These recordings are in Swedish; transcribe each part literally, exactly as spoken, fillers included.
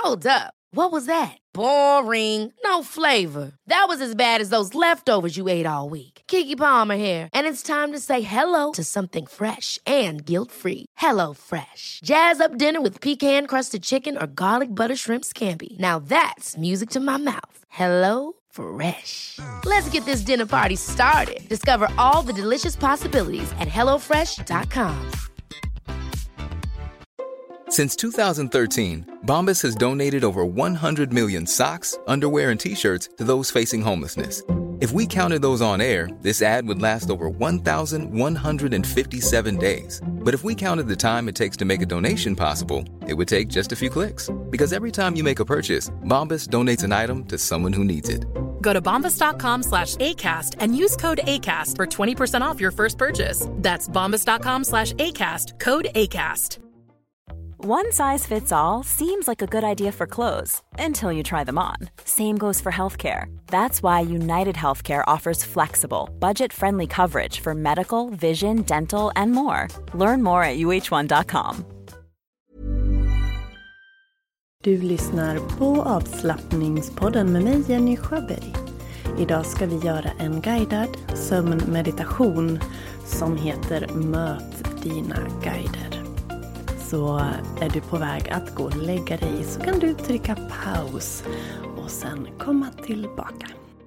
Hold up. What was that? Boring. No flavor. That was as bad as those leftovers you ate all week. Keke Palmer here, and it's time to say hello to something fresh and guilt-free. Hello Fresh. Jazz up dinner with pecan-crusted chicken or garlic butter shrimp scampi. Now that's music to my mouth. Hello Fresh. Let's get this dinner party started. Discover all the delicious possibilities at hello fresh dot com. Since two thousand thirteen, Bombas has donated over one hundred million socks, underwear, and T-shirts to those facing homelessness. If we counted those on air, this ad would last over one thousand one hundred fifty-seven days. But if we counted the time it takes to make a donation possible, it would take just a few clicks. Because every time you make a purchase, Bombas donates an item to someone who needs it. Go to bombas.com slash ACAST and use code ACAST for twenty percent off your first purchase. That's bombas.com slash ACAST, code ACAST. One size fits all seems like a good idea for clothes until you try them on. Same goes for healthcare. That's why United Healthcare offers flexible, budget-friendly coverage for medical, vision, dental, and more. Learn more at u h one dot com. Du lyssnar på avslappningspodden med mig, Jenny Sjöberg. Idag ska vi göra en guidad sömnmeditation som heter Möt dina guider. Så är du på väg att gå och lägga dig så kan du trycka paus och sen komma tillbaka.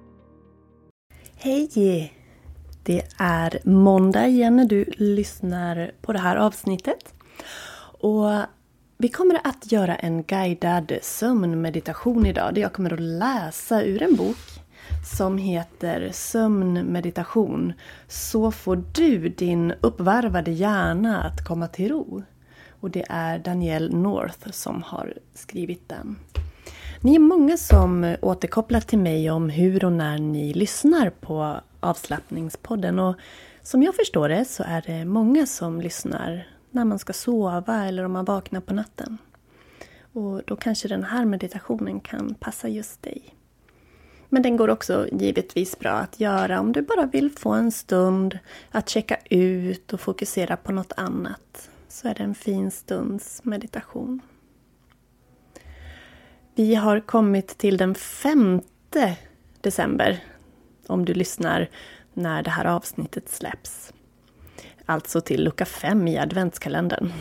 Hej! Det är måndag igen när du lyssnar på det här avsnittet. Och vi kommer att göra en guidad sömnmeditation idag. Där jag kommer att läsa ur en bok som heter Sömnmeditation. Så får du din uppvarvade hjärna att komma till ro. Och det är Danielle North som har skrivit den. Ni är många som återkopplar till mig om hur och när ni lyssnar på avslappningspodden. Och som jag förstår det så är det många som lyssnar när man ska sova eller om man vaknar på natten. Och då kanske den här meditationen kan passa just dig. Men den går också givetvis bra att göra om du bara vill få en stund att checka ut och fokusera på något annat. Så är det en fin stunds meditation. Vi har kommit till den femte december. Om du lyssnar när det här avsnittet släpps. Alltså till lucka fem i adventskalendern.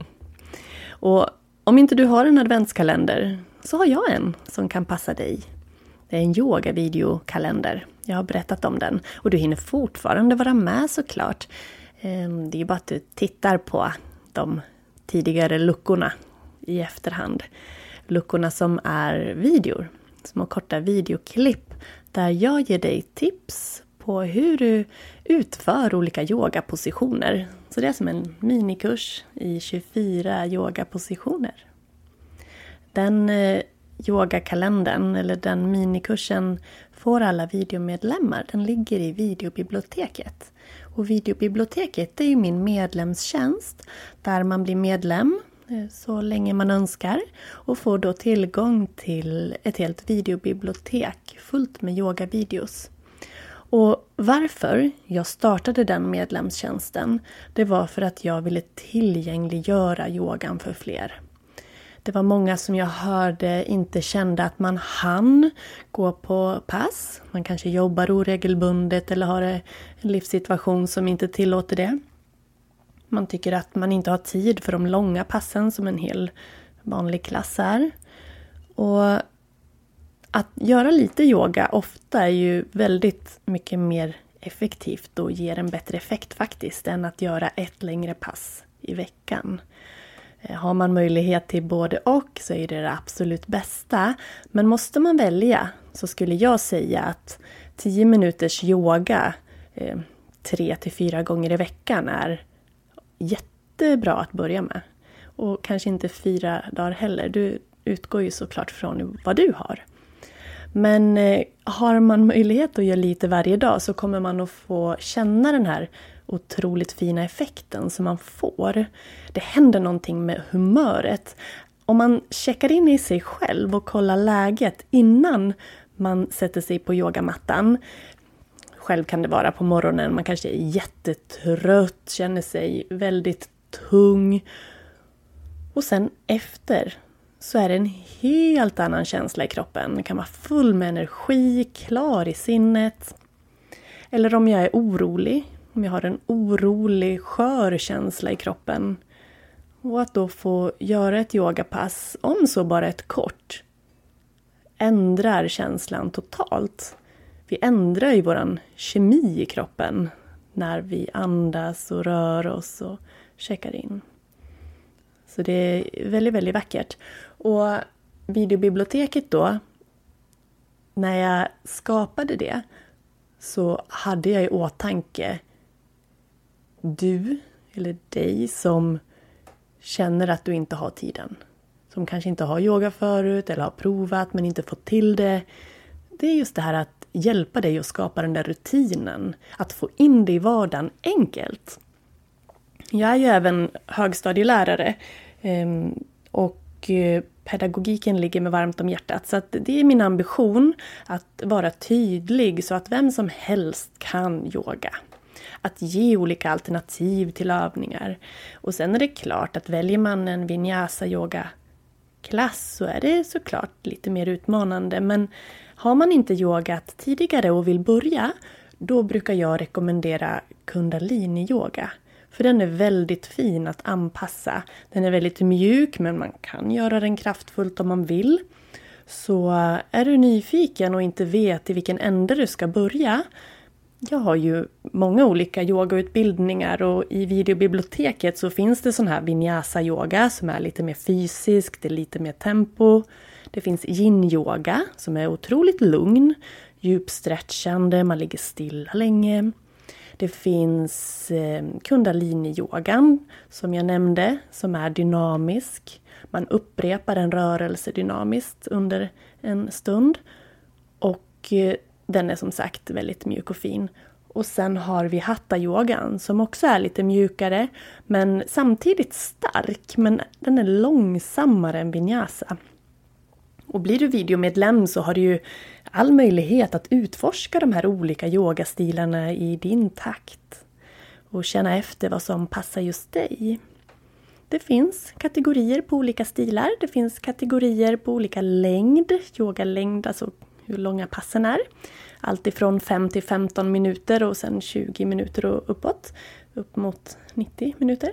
Och om inte du har en adventskalender så har jag en som kan passa dig. Det är en yoga-videokalender. Jag har berättat om den. Och du hinner fortfarande vara med såklart. Det är bara att du tittar på de tidigare luckorna i efterhand. Luckorna som är videor, små korta videoklipp där jag ger dig tips på hur du utför olika yogapositioner. Så det är som en minikurs i tjugofyra yogapositioner. Den eh, yogakalendern eller den minikursen får alla videomedlemmar. Den ligger i videobiblioteket. Och videobiblioteket är ju min medlemstjänst där man blir medlem så länge man önskar och får då tillgång till ett helt videobibliotek fullt med yogavideos. Och varför jag startade den medlemstjänsten, det var för att jag ville tillgängliggöra yogan för fler. Det var många som jag hörde inte kände att man hann gå på pass. Man kanske jobbar oregelbundet eller har en livssituation som inte tillåter det. Man tycker att man inte har tid för de långa passen som en hel vanlig klass är. Och att göra lite yoga ofta är ju väldigt mycket mer effektivt och ger en bättre effekt faktiskt än att göra ett längre pass i veckan. Har man möjlighet till både och så är det det absolut bästa. Men måste man välja så skulle jag säga att tio minuters yoga eh, tre till fyra gånger i veckan är jättebra att börja med. Och kanske inte fyra dagar heller. Du utgår ju såklart från vad du har. Men eh, har man möjlighet att göra lite varje dag så kommer man att få känna den här otroligt fina effekten som man får. Det händer någonting med humöret. Om man checkar in i sig själv och kollar läget innan man sätter sig på yogamattan. Själv kan det vara på morgonen. Man kanske är jättetrött, känner sig väldigt tung. Och sen efter så är det en helt annan känsla i kroppen. Man kan vara full med energi, klar i sinnet. Eller om jag är orolig, om jag har en orolig, skör känsla i kroppen. Och att då få göra ett yogapass, om så bara ett kort, ändrar känslan totalt. Vi ändrar ju våran kemi i kroppen när vi andas och rör oss och checkar in. Så det är väldigt, väldigt vackert. Och videobiblioteket då, när jag skapade det så hade jag i åtanke du eller dig som känner att du inte har tiden. Som kanske inte har yoga förut eller har provat men inte fått till det. Det är just det här att hjälpa dig att skapa den där rutinen. Att få in det i vardagen enkelt. Jag är ju även högstadielärare och pedagogiken ligger mig varmt om hjärtat. Så att det är min ambition att vara tydlig så att vem som helst kan yoga. Att ge olika alternativ till övningar. Och sen är det klart att väljer man en vinyasa yoga klass så är det såklart lite mer utmanande. Men har man inte yogat tidigare och vill börja, då brukar jag rekommendera kundalini yoga. För den är väldigt fin att anpassa. Den är väldigt mjuk men man kan göra den kraftfullt om man vill. Så är du nyfiken och inte vet i vilken ände du ska börja. Jag har ju många olika yogautbildningar och i videobiblioteket så finns det sån här vinyasa yoga som är lite mer fysisk, det är lite mer tempo. Det finns yin yoga som är otroligt lugn, djupstretchande, man ligger stilla länge. Det finns eh, kundalini-yogan som jag nämnde som är dynamisk. Man upprepar en rörelse dynamiskt under en stund. Och eh, den är som sagt väldigt mjuk och fin. Och sen har vi hatha-yogan som också är lite mjukare men samtidigt stark. Men den är långsammare än vinyasa. Och blir du videomedlem så har du ju all möjlighet att utforska de här olika yogastilarna i din takt. Och känna efter vad som passar just dig. Det finns kategorier på olika stilar. Det finns kategorier på olika längd. Yogalängd, alltså hur långa passen är. Allt ifrån fem till femton minuter och sen tjugo minuter och uppåt. Upp mot nittio minuter.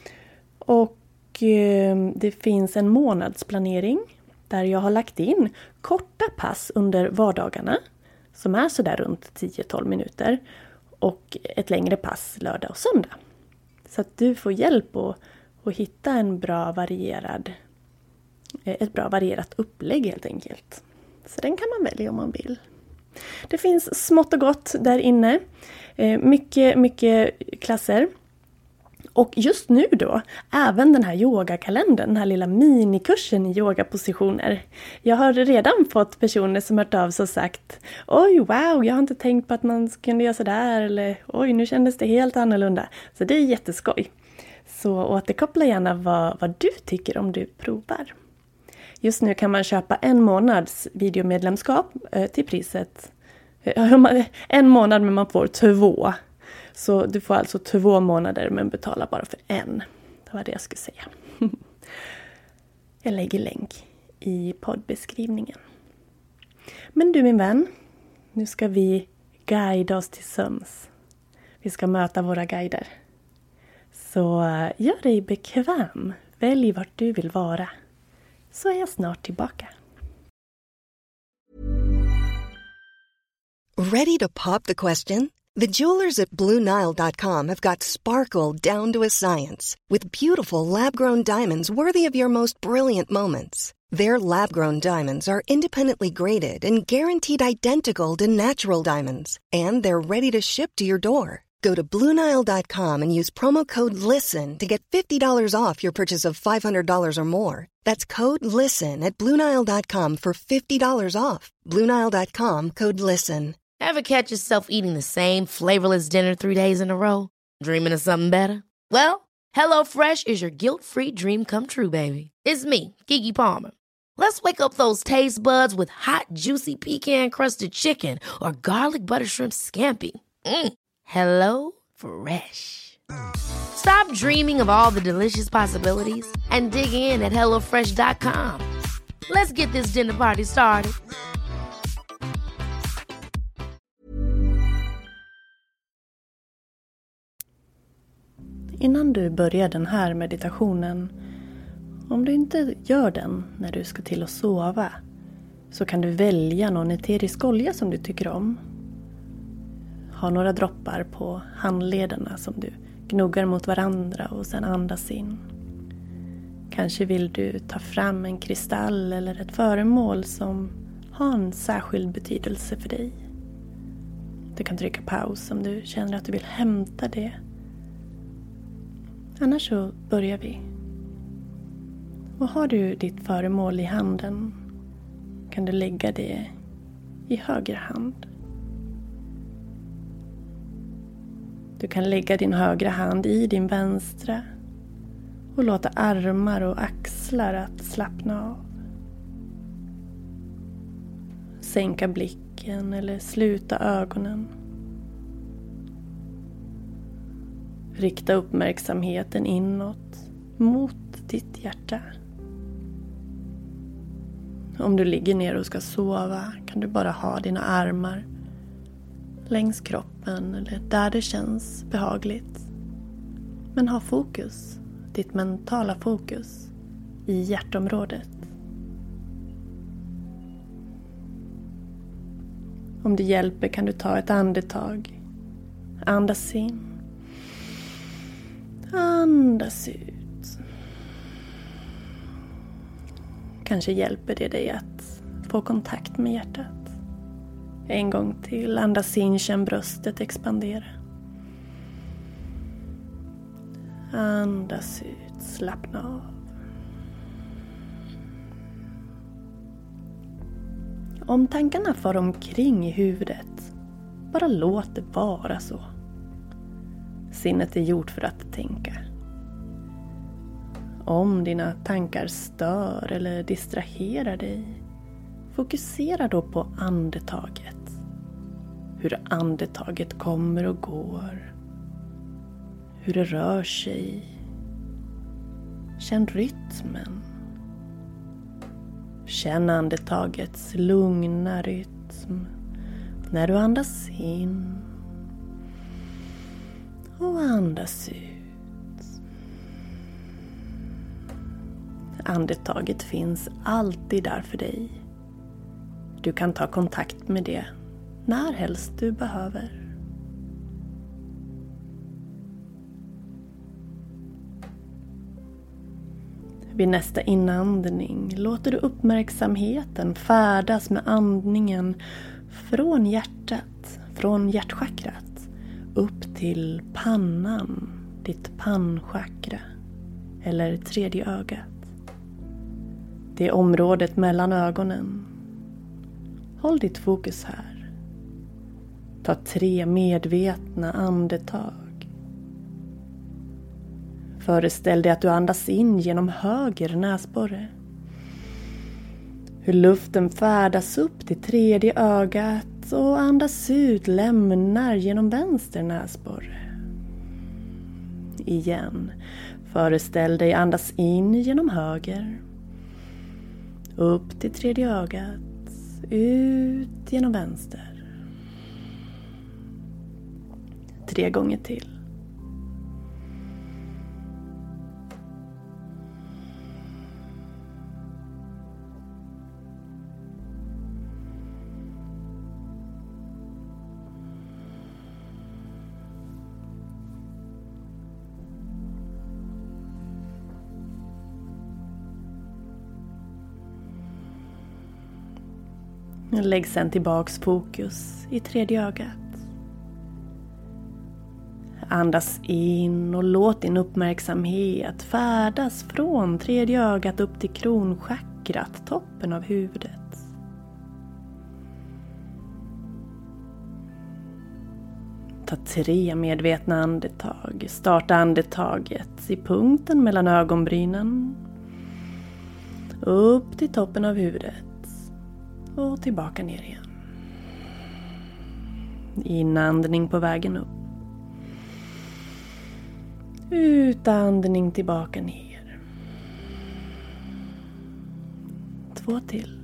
Och eh, det finns en månadsplanering. Där jag har lagt in korta pass under vardagarna. Som är sådär runt tio till tolv minuter. Och ett längre pass lördag och söndag. Så att du får hjälp att, att hitta en bra varierad, ett bra varierat upplägg helt enkelt. Så den kan man välja om man vill. Det finns smått och gott där inne. Mycket, mycket klasser. Och just nu då, även den här yogakalendern, den här lilla minikursen i yogapositioner. Jag har redan fått personer som hört av sig och sagt oj, wow, jag har inte tänkt på att man kunde göra sådär. Eller oj, nu kändes det helt annorlunda. Så det är jätteskoj. Så återkoppla gärna vad, vad du tycker om du provar. Just nu kan man köpa en månads videomedlemskap eh, till priset. Eh, en månad men man får två. Så du får alltså två månader men betalar bara för en. Det var det jag skulle säga. Jag lägger länk i poddbeskrivningen. Men du min vän, nu ska vi guida oss till sömns. Vi ska möta våra guider. Så gör dig bekväm. Välj vart du vill vara. Så är jag snart tillbaka. Ready to pop the question? The jewelers at Blue Nile dot com have got sparkle down to a science with beautiful lab-grown diamonds worthy of your most brilliant moments. Their lab-grown diamonds are independently graded and guaranteed identical to natural diamonds, and they're ready to ship to your door. Go to Blue Nile dot com and use promo code LISTEN to get fifty dollars off your purchase of five hundred dollars or more. That's code LISTEN at Blue Nile dot com for fifty dollars off. Blue Nile dot com, code LISTEN. Ever catch yourself eating the same flavorless dinner three days in a row? Dreaming of something better? Well, HelloFresh is your guilt-free dream come true, baby. It's me, Keke Palmer. Let's wake up those taste buds with hot, juicy pecan-crusted chicken or garlic butter shrimp scampi. Mm. Hello Fresh. Stop dreaming of all the delicious possibilities and dig in at hello fresh dot com. Let's get this dinner party started. Innan du börjar den här meditationen, om du inte gör den när du ska till att sova, så kan du välja någon eterisk olja som du tycker om. Ha några droppar på handlederna som du gnuggar mot varandra och sedan andas in. Kanske vill du ta fram en kristall eller ett föremål som har en särskild betydelse för dig. Du kan trycka paus om du känner att du vill hämta det. Annars så börjar vi. Och har du ditt föremål i handen kan du lägga det i höger hand. Du kan lägga din högra hand i din vänstra och låta armar och axlar att slappna av. Sänka blicken eller sluta ögonen. Rikta uppmärksamheten inåt mot ditt hjärta. Om du ligger ner och ska sova kan du bara ha dina armar längs kroppen eller där det känns behagligt. Men ha fokus, ditt mentala fokus, i hjärtområdet. Om det hjälper kan du ta ett andetag. Andas in. Andas ut. Kanske hjälper det dig att få kontakt med hjärtat. En gång till. Andas in, känn bröstet expandera. Andas ut, slappna av. Om tankarna far omkring i huvudet, bara låt det vara så. Sinnet är gjort för att tänka. Om dina tankar stör eller distraherar dig, fokusera då på andetaget. Hur andetaget kommer och går. Hur det rör sig. Känn rytmen. Känn andetagets lugna rytm när du andas in och andas ut. Andetaget finns alltid där för dig. Du kan ta kontakt med det när helst du behöver. Vid nästa inandning låter du uppmärksamheten färdas med andningen från hjärtat, från hjärtchakrat, upp till pannan, ditt pannchakra eller tredje ögat. Det är området mellan ögonen. Håll ditt fokus här. Ta tre medvetna andetag. Föreställ dig att du andas in genom höger näsborre. Hur luften färdas upp till tredje ögat och andas ut lämnar genom vänster näsborre. Igen. Föreställ dig andas in genom höger. Upp till tredje ögat. Ut genom vänster. Tre gånger till. Lägg sedan tillbaks fokus i tredje ögat. Andas in och låt din uppmärksamhet färdas från tredje ögat upp till kronchakrat, toppen av huvudet. Ta tre medvetna andetag. Starta andetaget i punkten mellan ögonbrynen. Upp till toppen av huvudet. Och tillbaka ner igen. Inandning på vägen upp. Utandning tillbaka ner. två till.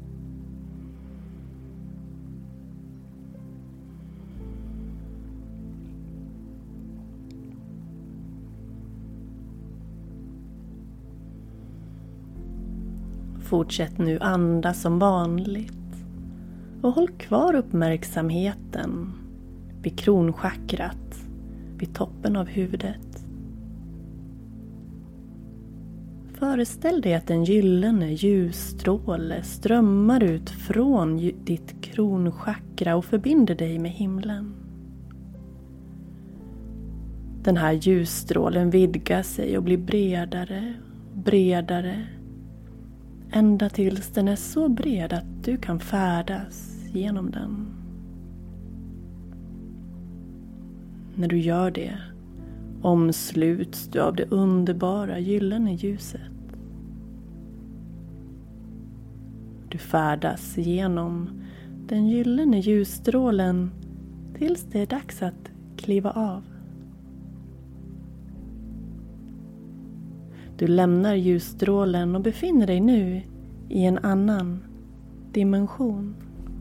Fortsätt nu andas som vanligt och håll kvar uppmärksamheten vid kronchakrat, vid toppen av huvudet. Föreställ dig att en gyllene ljusstråle strömmar ut från ditt kronchakra och förbinder dig med himlen. Den här ljusstrålen vidgar sig och blir bredare och bredare, ända tills den är så bred att du kan färdas genom den. När du gör det omsluts du av det underbara gyllene ljuset. Du färdas genom den gyllene ljusstrålen tills det är dags att kliva av. Du lämnar ljusstrålen och befinner dig nu i en annan dimension.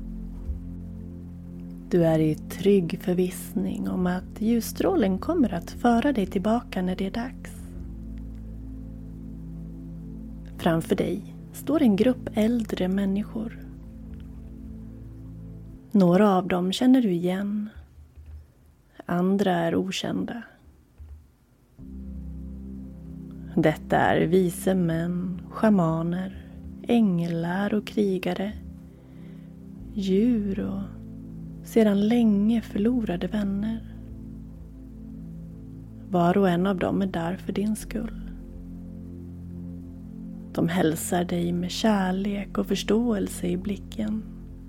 Du är i trygg förvissning om att ljusstrålen kommer att föra dig tillbaka när det är dags. Framför dig står en grupp äldre människor. Några av dem känner du igen. Andra är okända. Detta är vise män, schamaner, änglar och krigare, djur och sedan länge förlorade vänner. Var och en av dem är där för din skull. De hälsar dig med kärlek och förståelse i blicken.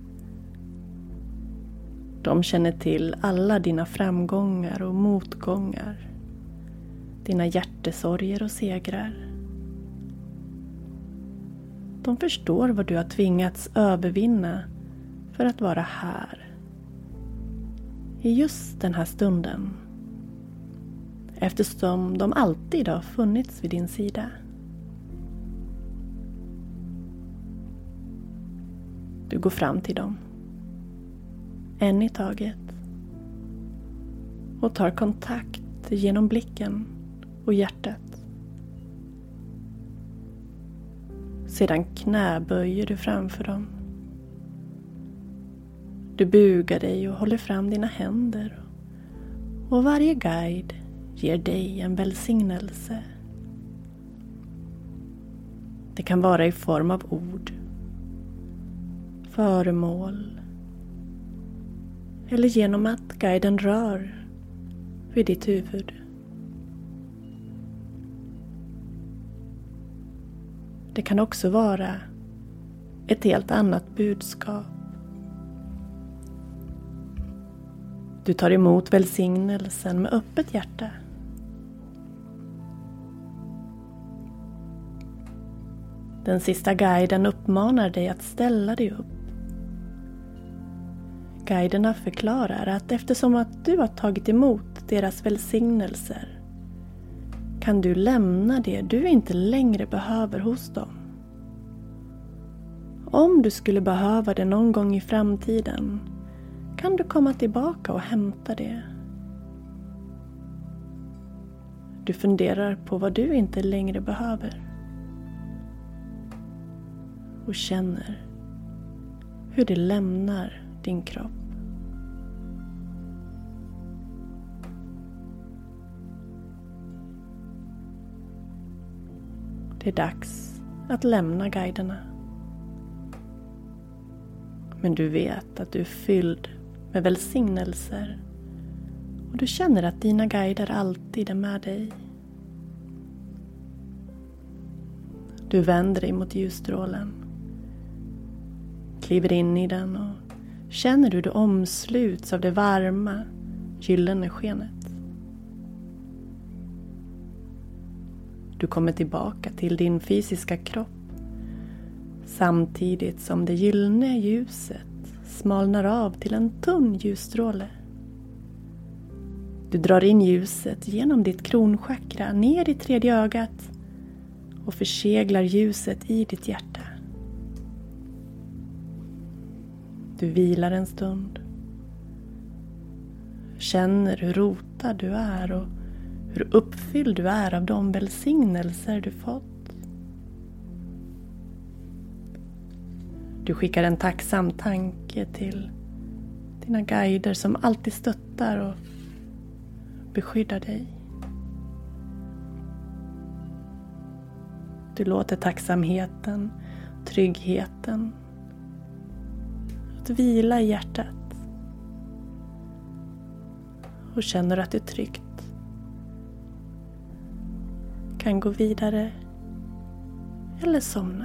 De känner till alla dina framgångar och motgångar, dina hjärtesorger och segrar. De förstår vad du har tvingats övervinna för att vara här, i just den här stunden, eftersom de alltid har funnits vid din sida. Du går fram till dem, en i taget, och tar kontakt genom blicken och hjärtat. Sedan knäböjer du framför dem. Du bugar dig och håller fram dina händer, och varje guide ger dig en välsignelse. Det kan vara i form av ord, föremål eller genom att guiden rör vid ditt huvud. Det kan också vara ett helt annat budskap. Du tar emot välsignelsen med öppet hjärta. Den sista guiden uppmanar dig att ställa dig upp. Guiderna förklarar att eftersom att du har tagit emot deras välsignelser kan du lämna det du inte längre behöver hos dem. Om du skulle behöva det någon gång i framtiden kan du komma tillbaka och hämta det. Du funderar på vad du inte längre behöver. Och känner hur det lämnar din kropp. Det är dags att lämna guiderna. Men du vet att du är fylld med välsignelser. Och du känner att dina guider alltid är med dig. Du vänder dig mot ljusstrålen. Kliver in i den och känner hur du omsluts av det varma, gyllene skenet. Du kommer tillbaka till din fysiska kropp samtidigt som det gyllene ljuset smalnar av till en tunn ljusstråle. Du drar in ljuset genom ditt kronchakra ner i tredje ögat och förseglar ljuset i ditt hjärta. Du vilar en stund. Känner hur rotad du är och hur uppfylld du är av de välsignelser du fått. Du skickar en tacksam tanke till dina guider som alltid stöttar och beskyddar dig. Du låter tacksamheten, tryggheten att vila i hjärtat. Och känner att du tryggt kan gå vidare eller somna.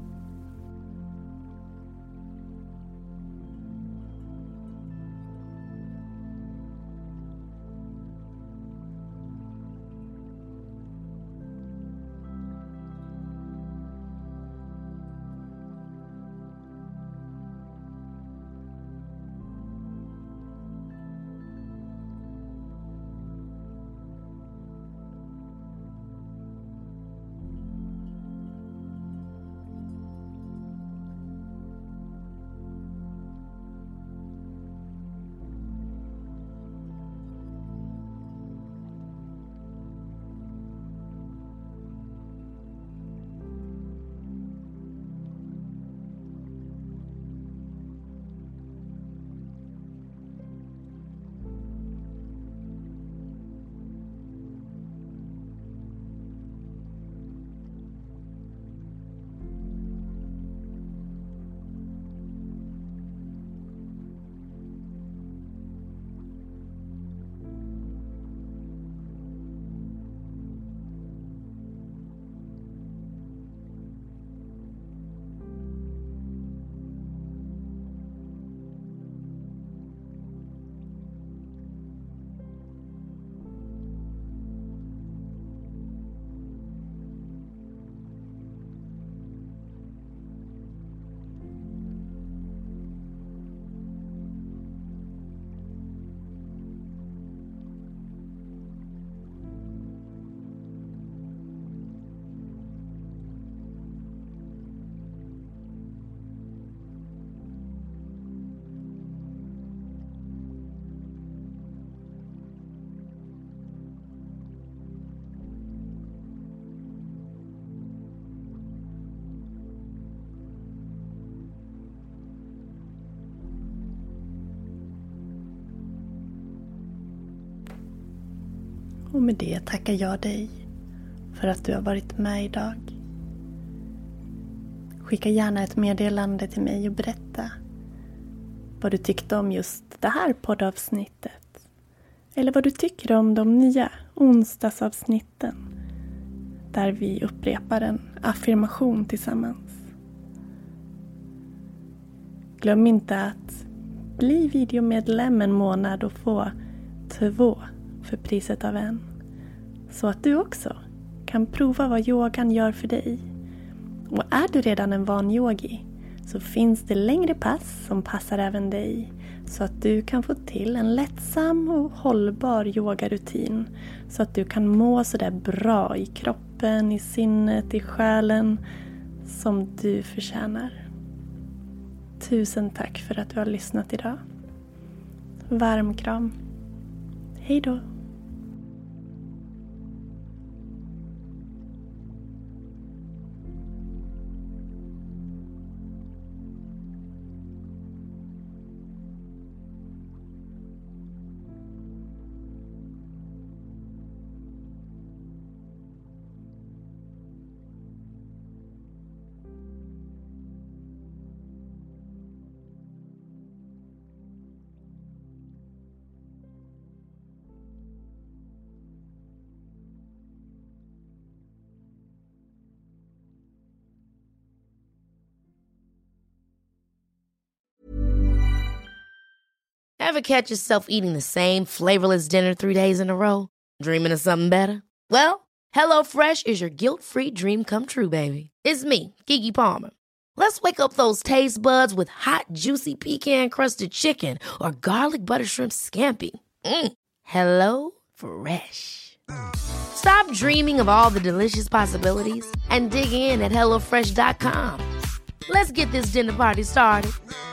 Och med det tackar jag dig för att du har varit med idag. Skicka gärna ett meddelande till mig och berätta vad du tyckte om just det här poddavsnittet. Eller vad du tycker om de nya onsdagsavsnitten där vi upprepar en affirmation tillsammans. Glöm inte att bli videomedlem en månad och få två för priset av en. Så att du också kan prova vad yogan gör för dig. Och är du redan en van yogi så finns det längre pass som passar även dig. Så att du kan få till en lättsam och hållbar yogarutin. Så att du kan må så där bra i kroppen, i sinnet, i själen som du förtjänar. Tusen tack för att du har lyssnat idag. Varm kram. Hej då. Ever catch yourself eating the same flavorless dinner three days in a row? Dreaming of something better? Well, HelloFresh is your guilt-free dream come true, baby. It's me, Keke Palmer. Let's wake up those taste buds with hot, juicy pecan-crusted chicken or garlic butter shrimp scampi. Mm. Hello Fresh. Stop dreaming of all the delicious possibilities and dig in at hello fresh dot com. Let's get this dinner party started.